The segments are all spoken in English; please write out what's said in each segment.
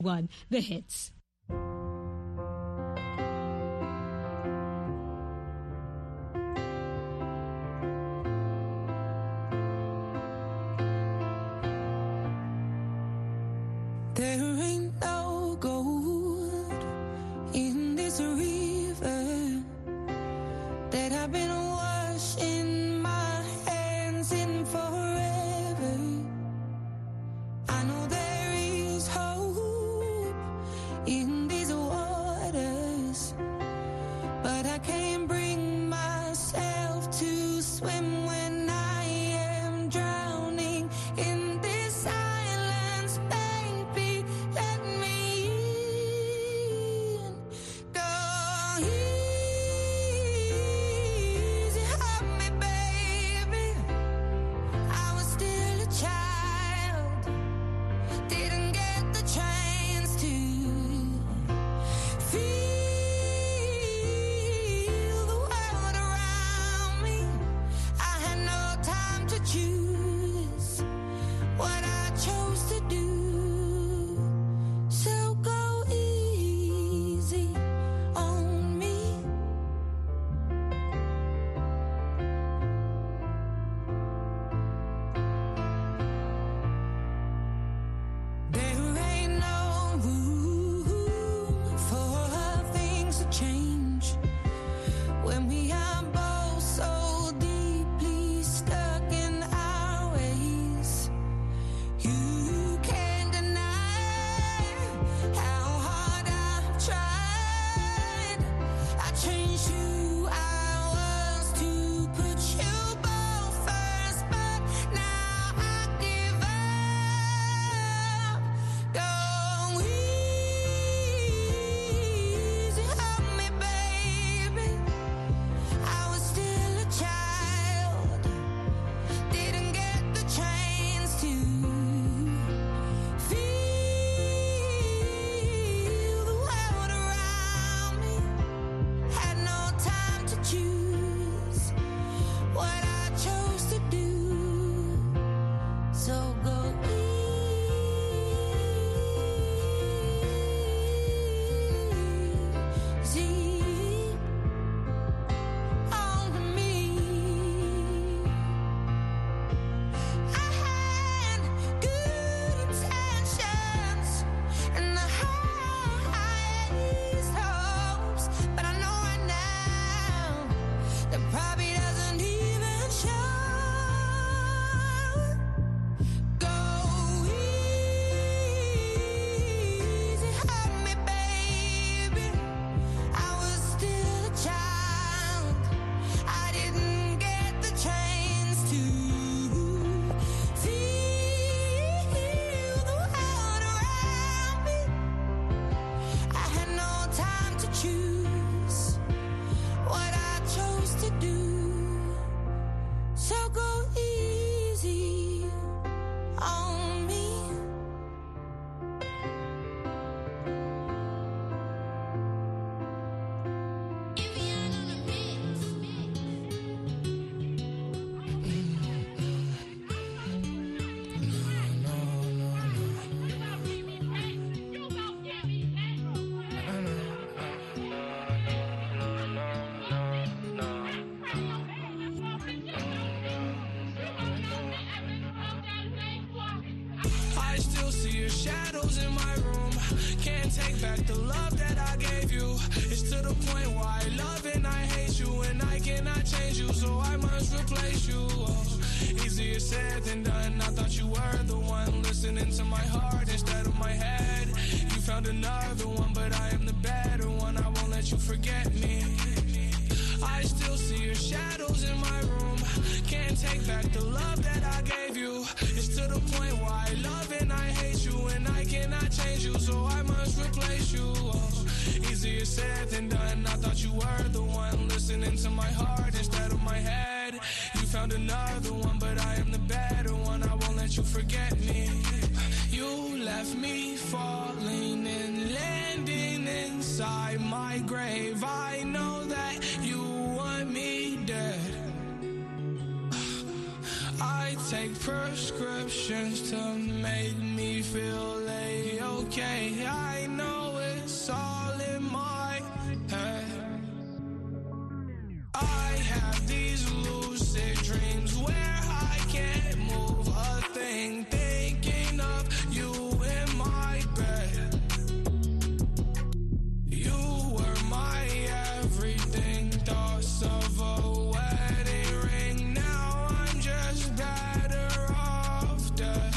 One, the hits. There ain't no gold in this river that I've been washing my hands in forever. I know there is hope in these waters, but I can't bring myself to swim when I am drowning in this silence. Baby, let me in. Go easy on me, baby. I was still a child, didn't get the chance to feel the world around me. I had no time to choose what I chose to do. So go easy on me. There ain't no room for things to change when we are both so deeply stuck in our ways. You can't deny how hard I've tried. I changed who I was to put you both first, but now I give up. Go easy on me, baby. I was still a child, didn't get the chance to feel the world around me. Had no time to choose what I chose to do. So go easy on me. I had good intentions and the highest hopes, but I know right now that probably doesn't even show. Go easy on me, baby. I was still a child, I didn't get the chance to feel the world around me. I had no time to choose what I chose to do. So go easy on me. I still see your shadows in my room. Can't take back the love that I gave you. It's to the point where I love and I hate you, and I cannot change you, so I must replace you. Oh, easier said than done. I thought you were the one listening to my heart instead of my head. You found another one, but I am the better one. I won't let you forget me. I still see your shadows in my room. Can't take back the love that I gave you. It's to the point where I love and I hate you, and I cannot change you, so I must replace you. Oh, easier said than done. I thought you were the one listening to my heart instead of my head. You found another one, but I am the better one. I won't let you forget me. You left me falling and landing inside my grave. I know that you want me dead. I take prescriptions to make me feel A-okay. have these lucid dreams where I can't move a thing, thinking of you in my bed. You were my everything, thoughts of a wedding ring. Now I'm just better off dead.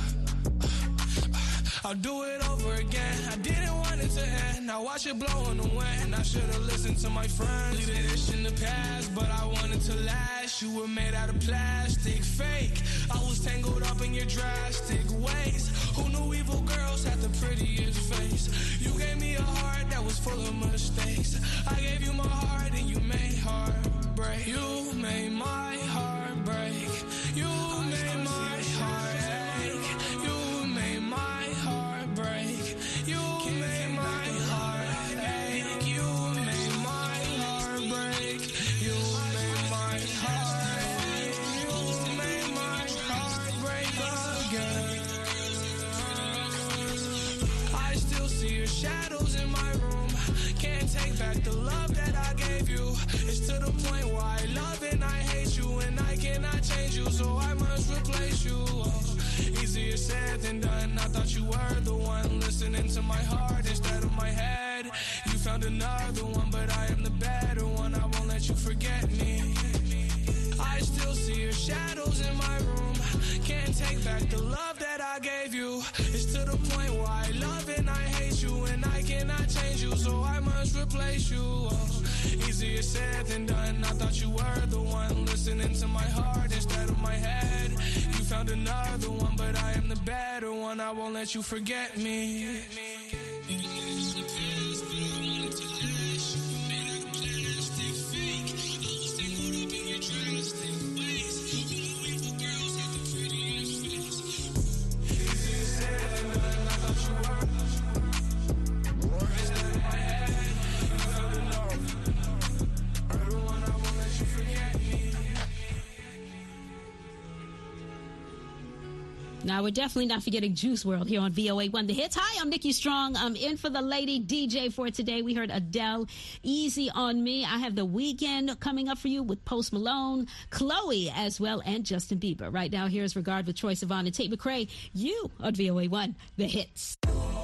I'll do it over again. I didn't want it to end. Now watch it blow in the wind. I should've listened to my friends. Leave this in the past, but I wanted to last. You were made out of plastic, fake. I was tangled up in your drastic ways. Who knew evil girls had the prettiest face? You gave me a heart that was full of mistakes. I gave you my heart and you made heartbreak. You made my heart break. You made my heart ache. You made my heart break. You made my heart ache. You made my heart break. You made my heart ache. You made my heart break again. I still see your shadows in my room. Can't take back the love that I gave you. It's to the point where I love and I hate you, and I cannot change you, so I must replace you. Oh, easier said than done. I thought you were the one listening to my heart instead of my head. You found another one, but I am the better one. I won't let you forget me. I still see your shadows in my room. Can't take back the love that I gave you. It's to the point where I love and I hate you, and I cannot change you, so I must replace you. Oh, easier said than done. I thought you were the one listening to my heart instead of my head. You found another one, but I am the better one. I won't let you forget me. Now, we're definitely not forgetting Juice WRLD here on VOA1 The Hits. Hi, I'm Nikki Strong. I'm in for the lady DJ for today. We heard Adele, Easy on Me. I have The Weeknd coming up for you with Post Malone, Chloe as well, and Justin Bieber. Right now, here's Regard with Troye Sivan and Tate McRae. You on VOA1 The Hits.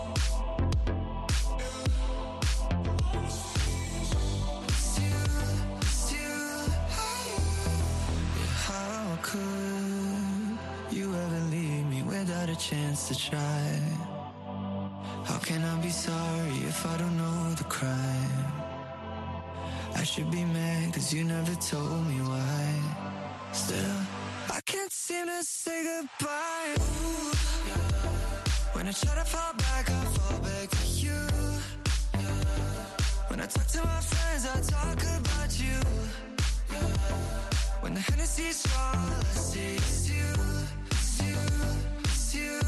How could you ever leave me without a chance to try? How can I be sorry if I don't know the crime? I should be mad cause you never told me why. Still, I can't seem to say goodbye. Ooh, yeah. When I try to fall back, I fall back to you. Yeah. When I talk to my friends, I talk about you. Yeah. When the Hennessy's strong, all I see is you, it's you, it's you.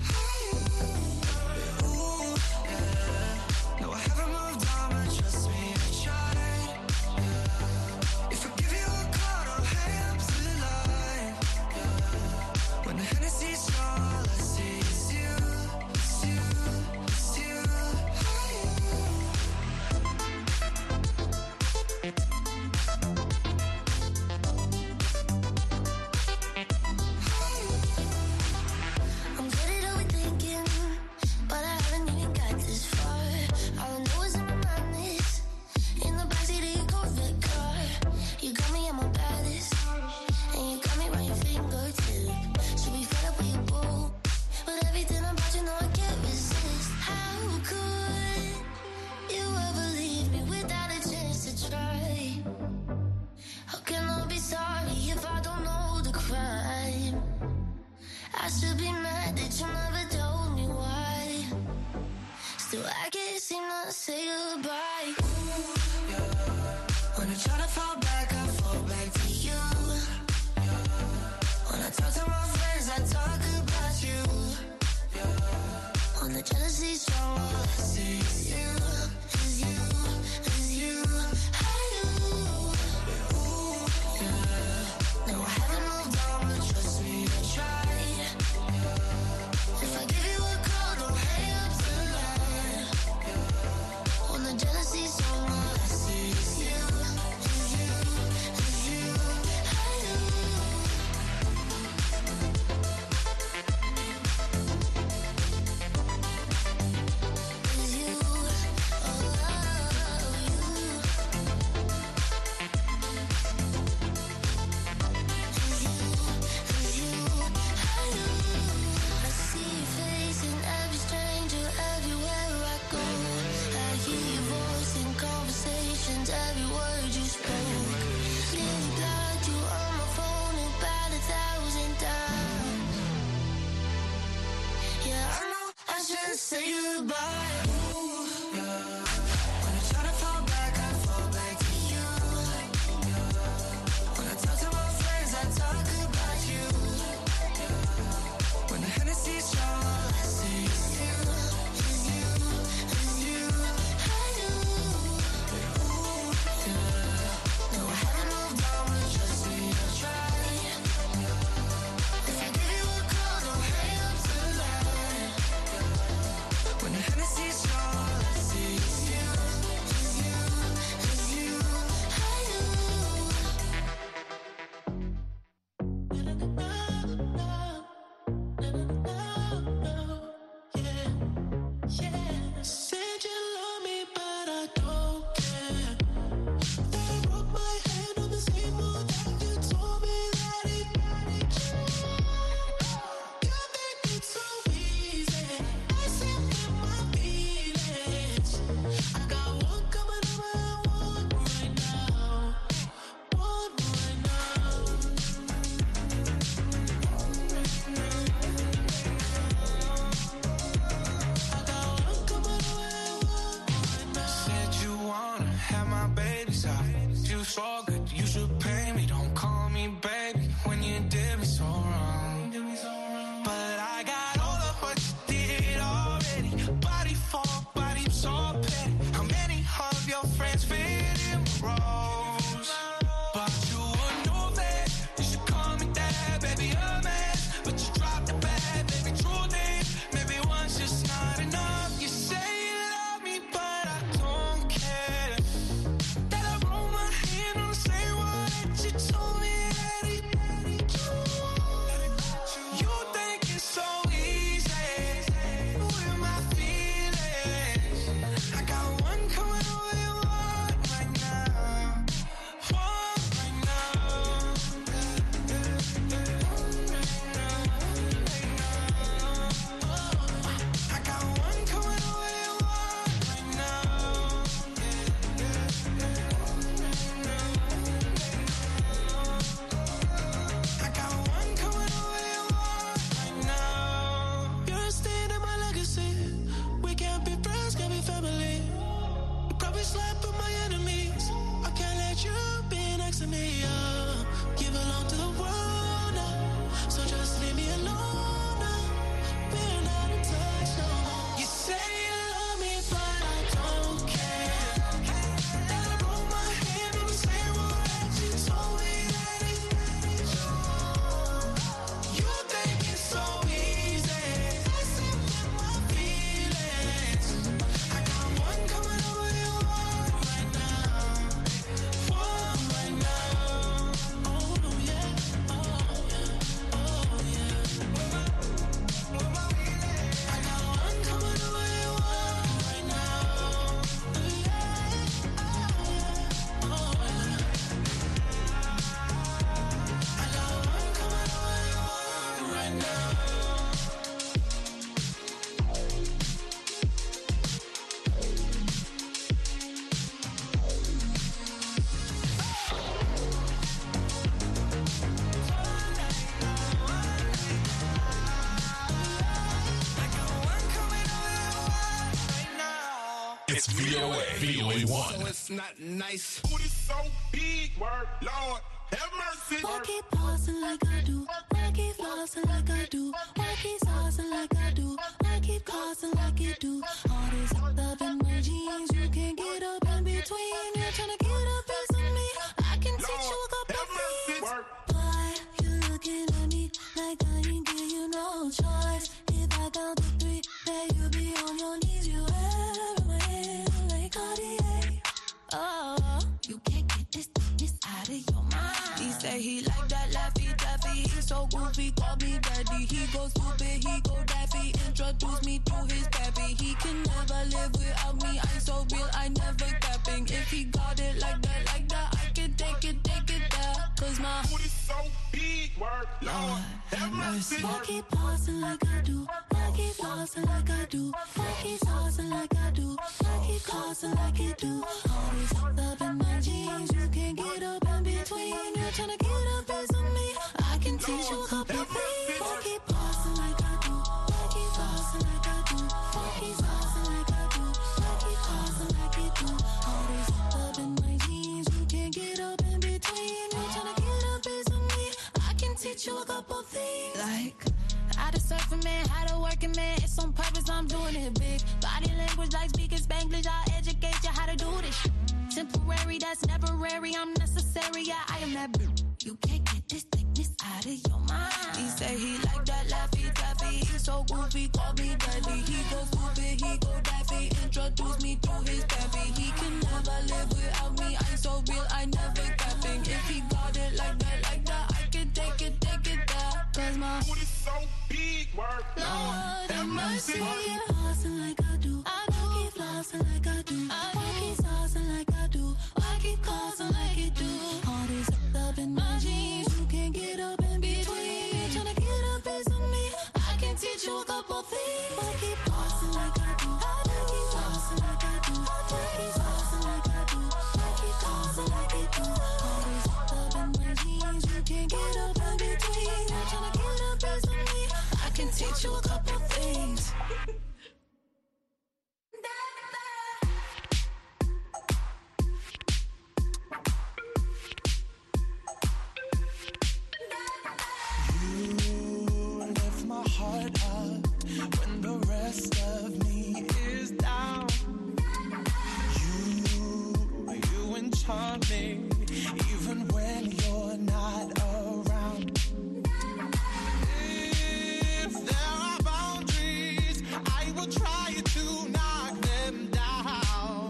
Ooh, yeah. No, I haven't moved on, but trust me, I tried. Yeah. If I give you a call, don't hang up to the line. Yeah. When the Hennessy's strong, all I see is you, it's you, it's you. I'm good at overthinking, but I haven't even got this far. All I know is in my madness, in the backseat of your Corvette car. You got me at my baddest, and you got me round your fingertip. Should be fed up with your boo, but everything about you know I can't resist. How could you ever leave me without a chance to try? How can I be sorry if I don't know the crime? I should be mad that you never told me why. Still, I can't seem to say goodbye. Ooh, yeah. When I try to fall back, I fall back to you. Yeah. When I talk to my friends, I talk about you. Yeah. When the jealousy's strong, all I see is you, is you, is you. Ooh, yeah. No, I haven't moved on, but trust me, I tried. If I give you a call, don't hang up the line. When the jealousy's strong, all I see is you, is you, is goodbye. Ooh, yeah. When I try to fall back, I fall back to you. Yeah. When I talk to my friends, I talk about you. Yeah. When the Hennessy's strong, all I see is you, is you, is you. I do. Ooh, yeah. No, I haven't moved on, but trust me, I'll try. If I give you a call, don't hang up tonight. When the Hennessy's strong, all I see is you, is you, is you. I do. Said you love me, but I don't care. Then I broke my hand on the same wall that you told me that it. You think it's so easy. I sit with my feelings. I got one coming over and one right now. One right now. I got one coming over and one right now. Said you wanna have my babies out. You so good, you should pay me. Don't call me baby when you did me so wrong. But I got all of what you did already. Body for body, so petty. How many of your friends fit in my roles? But you would know that you should call me that, baby, a man. But you dropped the bad, baby, true thing. Maybe one's just not enough. You say you love me, but I don't care. That I roll my hand on the same wall that you told me that it. You think it's so easy with my feelings. I got one coming over and one right now. One right now. I got one coming over and one right now. I got one coming over and one right now. You're a stain in my legacy. We can't be friends, can't be family. You probably slept with my enemies. I can't let you be next to me. You belong to the world now, so just leave me alone now. We're not in touch no more. You say you love me, but I don't care. That I broke my hand on the same wall that you told me that it. You think it's so easy. I sit with my feelings. I got one coming over and one right now. One right now. Oh no, yeah. Oh yeah. Oh yeah. I got one coming over and one right now. Yeah. Oh yeah. I got one coming over and one right now. I got one coming over and one right now. It's VOA 1. So it's not nice. Booty so big, word, Lord, have mercy. Why keep pausing like I do? Why keep flossing like I do? Why keep saucing like I do? Why keep causing like you do? All this up in my jeans, you can't get up in between. You're trying to get a piece of me. I can teach you a couple Have mercy. things. Word. Why you looking at me like I ain't give you no choice? If I count to three, then you be on your knees. You have my hand like Cartier. Oh, you can't get this out of your mind. He say he like that Laffy Taffy. He's so goofy, call me daddy. He go stupid, he go daffy. Introduce me to his pappy. He can never live without me. I'm so real, I never capping. If he got it like that, I can take it there. Cause my Booty so big, word, Lord, have mercy. Why keep pausing like I do? Why keep flossing like I do? Why keep saucing like I do? Why keep causing like you do? All this up in my jeans, you can't get up in between. You're trying to get a piece of me. I can teach you a couple things. Why keep pausing like I do? Why keep flossing like I do? Why keep saucing surfing man, how to working man. It's on purpose, I'm doing it big. Body language like speaking Spanglish. I'll educate you how to do this shit. Temporary, that's never rare. I'm necessary, yeah, I am that bitch. You can't get this thickness out of your mind. He say he like that Laffy Taffy. He's so goofy, call me daddy. He go stupid, he go daffy. Introduce me to his pappy. He can never live without me. I'm so real, I never capping. If he got it like that, I can take it there. Cause my Booty so big, work. Lord have mercy. Flossing like I do. I keep flossing like I do. I keep saucing like I do. I keep causing like it do. All this up in my jeans. You can't get up in between. Tryna get a piece of me. I can teach you a couple things. I keep flossing like I do. I keep flossing like I do. I keep saucing like I do. I keep causing like it do. All this up in my jeans. You can't get up in between. Tryna get a piece of me. I can teach you a couple things. Lift my heart up when the rest of me is down. You enchant me even when you're not around. If there are boundaries, I will try to knock them down.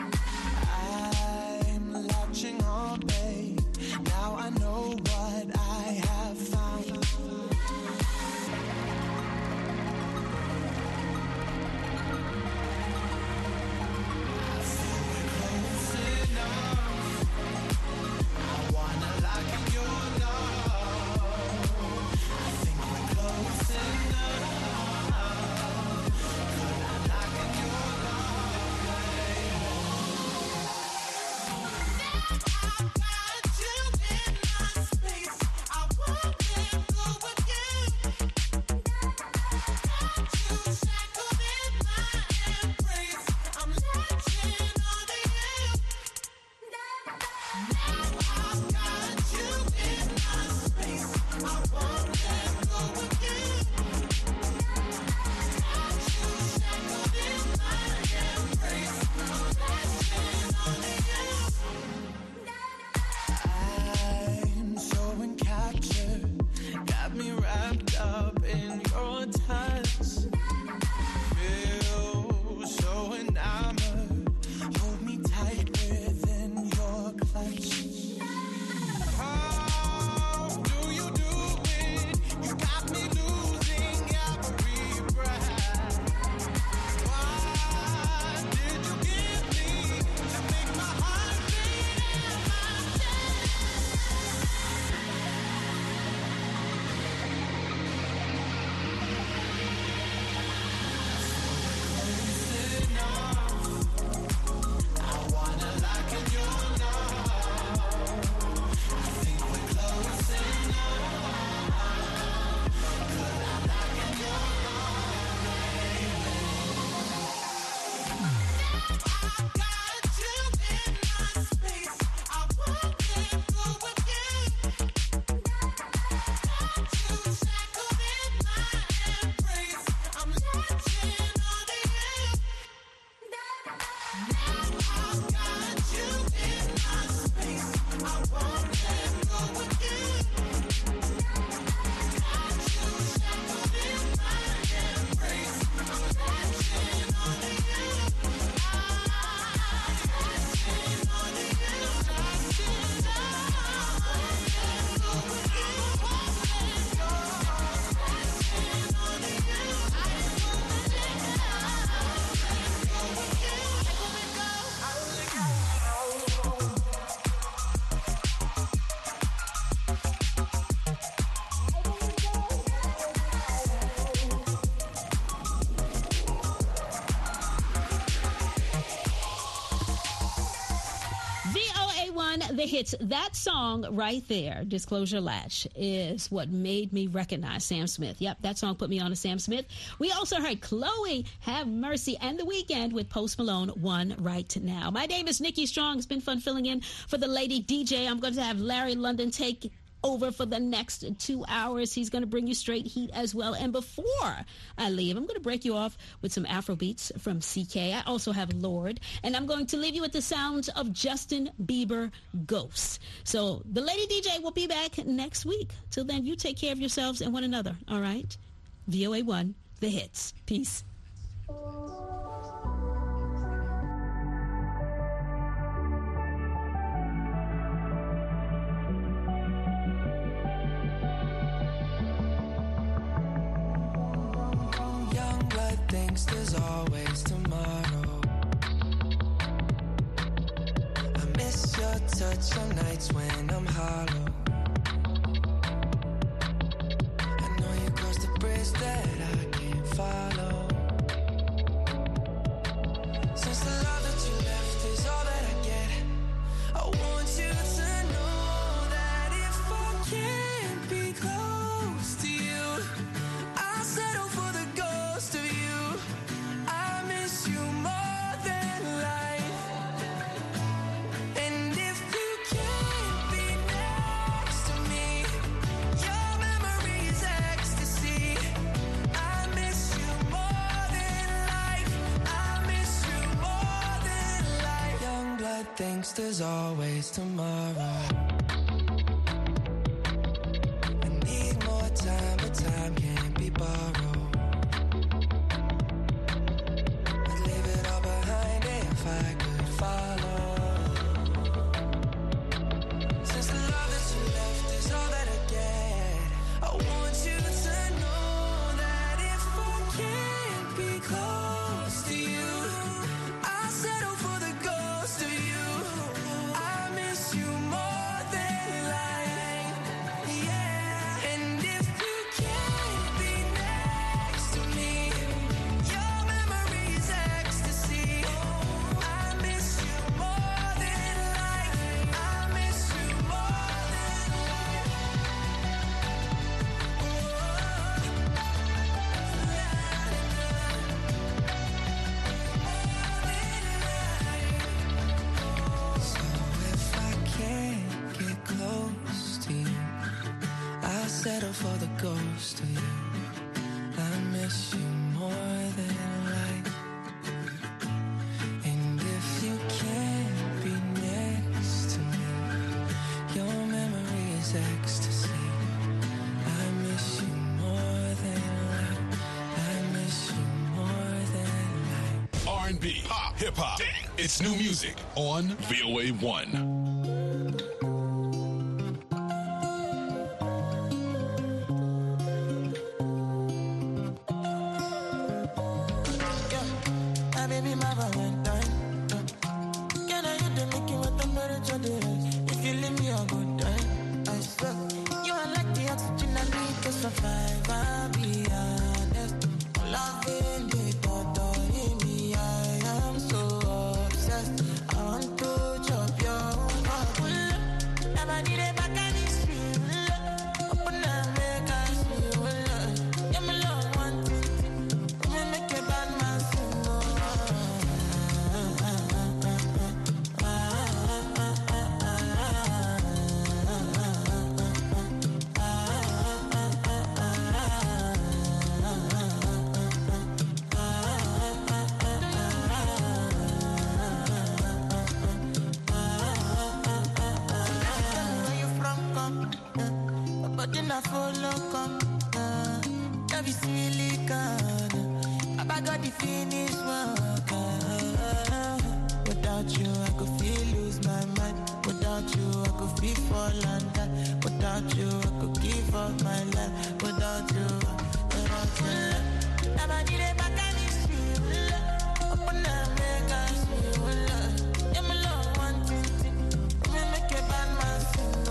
I'm latching on, babe. Now I know what I have found. I'm so encaptured, got me wrapped up in your touch. Feel so enamored, hold me tight within your clutch. How do you do it? You got me losing every breath. What did you give me to make my heart beat in my chest? I wanna lock in your love. I think we're close enough. Could I lock in your love, baby? I got you in my space. I won't let go again. Got you shackled in my embrace. I'm latching on to you. I got you in my space. I won't let go again. Got you shackled in my embrace. I'm latching on to you. Latching on to you. Latching VOA1, the hits. That song right there, Disclosure Latch, is what made me recognize Sam Smith. Yep, that song put me on to Sam Smith. We also heard Chloe, Have Mercy, and The Weeknd with Post Malone, One Right Now. My name is Nikki Strong. It's been fun filling in for the lady DJ. I'm going to have Larry London take over for the next 2 hours. He's going to bring you straight heat as well. And before I leave, I'm going to break you off with some Afro beats from CK. I also have Lord. And I'm going to leave you with the sounds of Justin Bieber, Ghosts. So the Lady DJ will be back next week. Till then, you take care of yourselves and one another, all right? VOA1, the hits. Peace. Young blood thinks there's always tomorrow. I miss your touch on nights when I'm hollow. I know you crossed the bridge that I can't follow. Since the love that you left is all that I get, I want you to know that if I can't be close to you, I'll settle for the ghost of you. I miss you more than life. And if you can't be next to me, your memory is ecstasy. I miss you more than life. I miss you more than life. Young blood thinks there's always tomorrow. I need more time, but time can't be borrowed. I'd leave it all behind if I could follow. Since the love that you left is all that I get, I want you to know that if I can't be close to you, I'll settle for the ghost of you. I miss you more than life. Yeah. And if you can't be next to me, your memory is ecstasy. I miss you more than life. I miss you more than life. So if I can't get close to you, I'll settle for the ghost of you. I miss you more than life. And if you can't be next to me, your memory is ecstasy. I miss you more than life. I miss you more than life. R&B, pop, hip hop. It's new music on VOA 1. My baby, my Valentine. Can I hit the making with the temperature days? If you leave me a good time, I swear. You are like the oxygen I need to survive. I'll be honest. Loving the thought in me, I am so obsessed. I want to chop your heart. Never need a back and it's real. Open up, make us feel. Yeah, my love, one thing. Me make a bad man sing. Where you from, come? But then I follow, come. Every silicon. I got the finish work. Without you, I could feel lose my mind. Without you, I could feel fall and die. Without you, I could give up my life. Without you, never need a back and it's real. Open up, make us feel. Yeah, my love, one thing. Me make a bad man sing.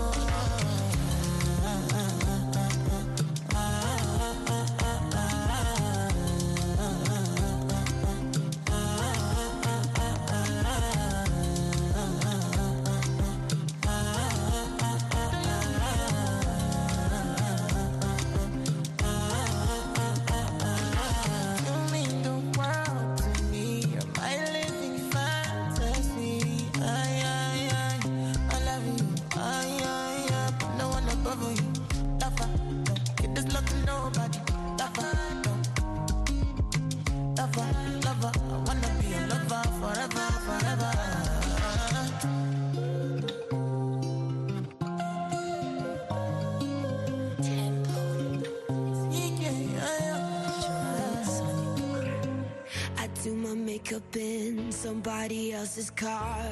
up in somebody else's car.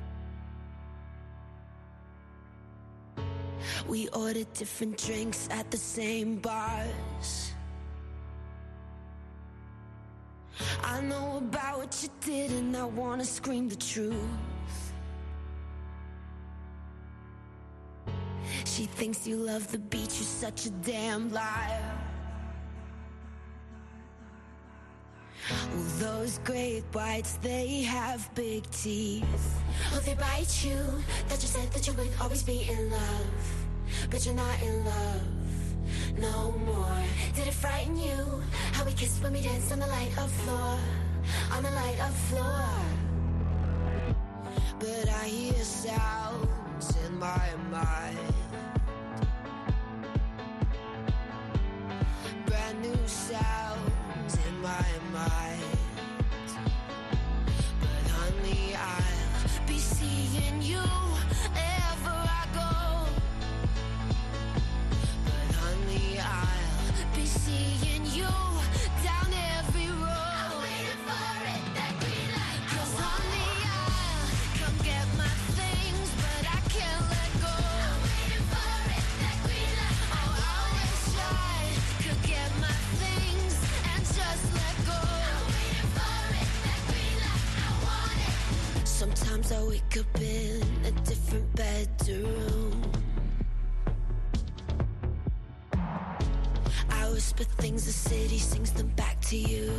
We ordered different drinks at the same bars. I know about what you did and I wanna scream the truth. She thinks you love the beach, you're such a damn liar. Well, those great whites, they have big teeth. Oh, they bite you, that you said that you would always be in love. But you're not in love no more. Did it frighten you, how we kissed when we danced on the light of floor? On the light of floor. But I hear sounds in my mind. Brand new sounds in my mind. But honey, I'll be seeing you ever I go. But honey, I'll be seeing you down every road. I'm waiting for it, that green light. 'Cause honey, I'll come get my things, but I can't let go. I'm waiting for it, that green light. Oh, I wish I could get my things and just let go. I'm waiting for it, that green light. I want it. Sometimes I wake up in a different bedroom. I whisper things, the city sings them back to you.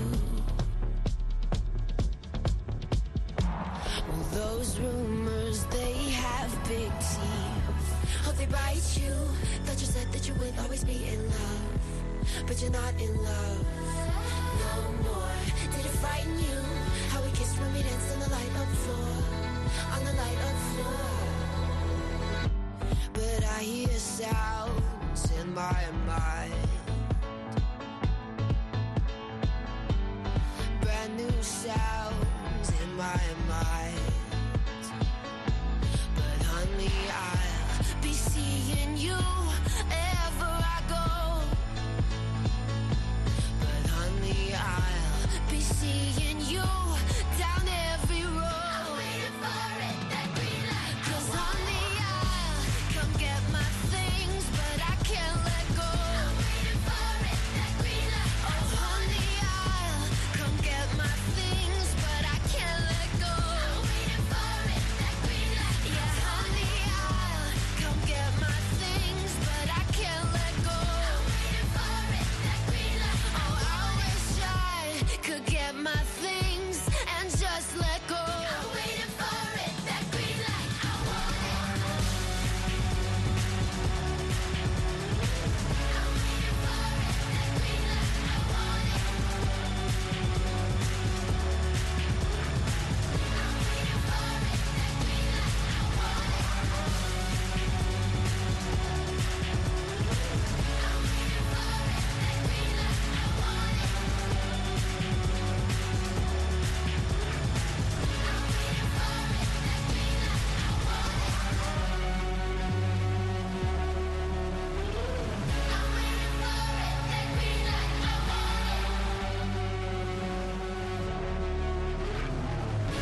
Well, those rumors, they have big teeth. Oh, they bite you. Thought you said that you would always be in love. But you're not in love no more. Did it frighten you, how we kissed when we danced on the light of floor? On the light of floor. But I hear sounds in my mind. Brand new sounds in my mind. But honey, I'll be seeing you ever I go. But honey, I'll be seeing you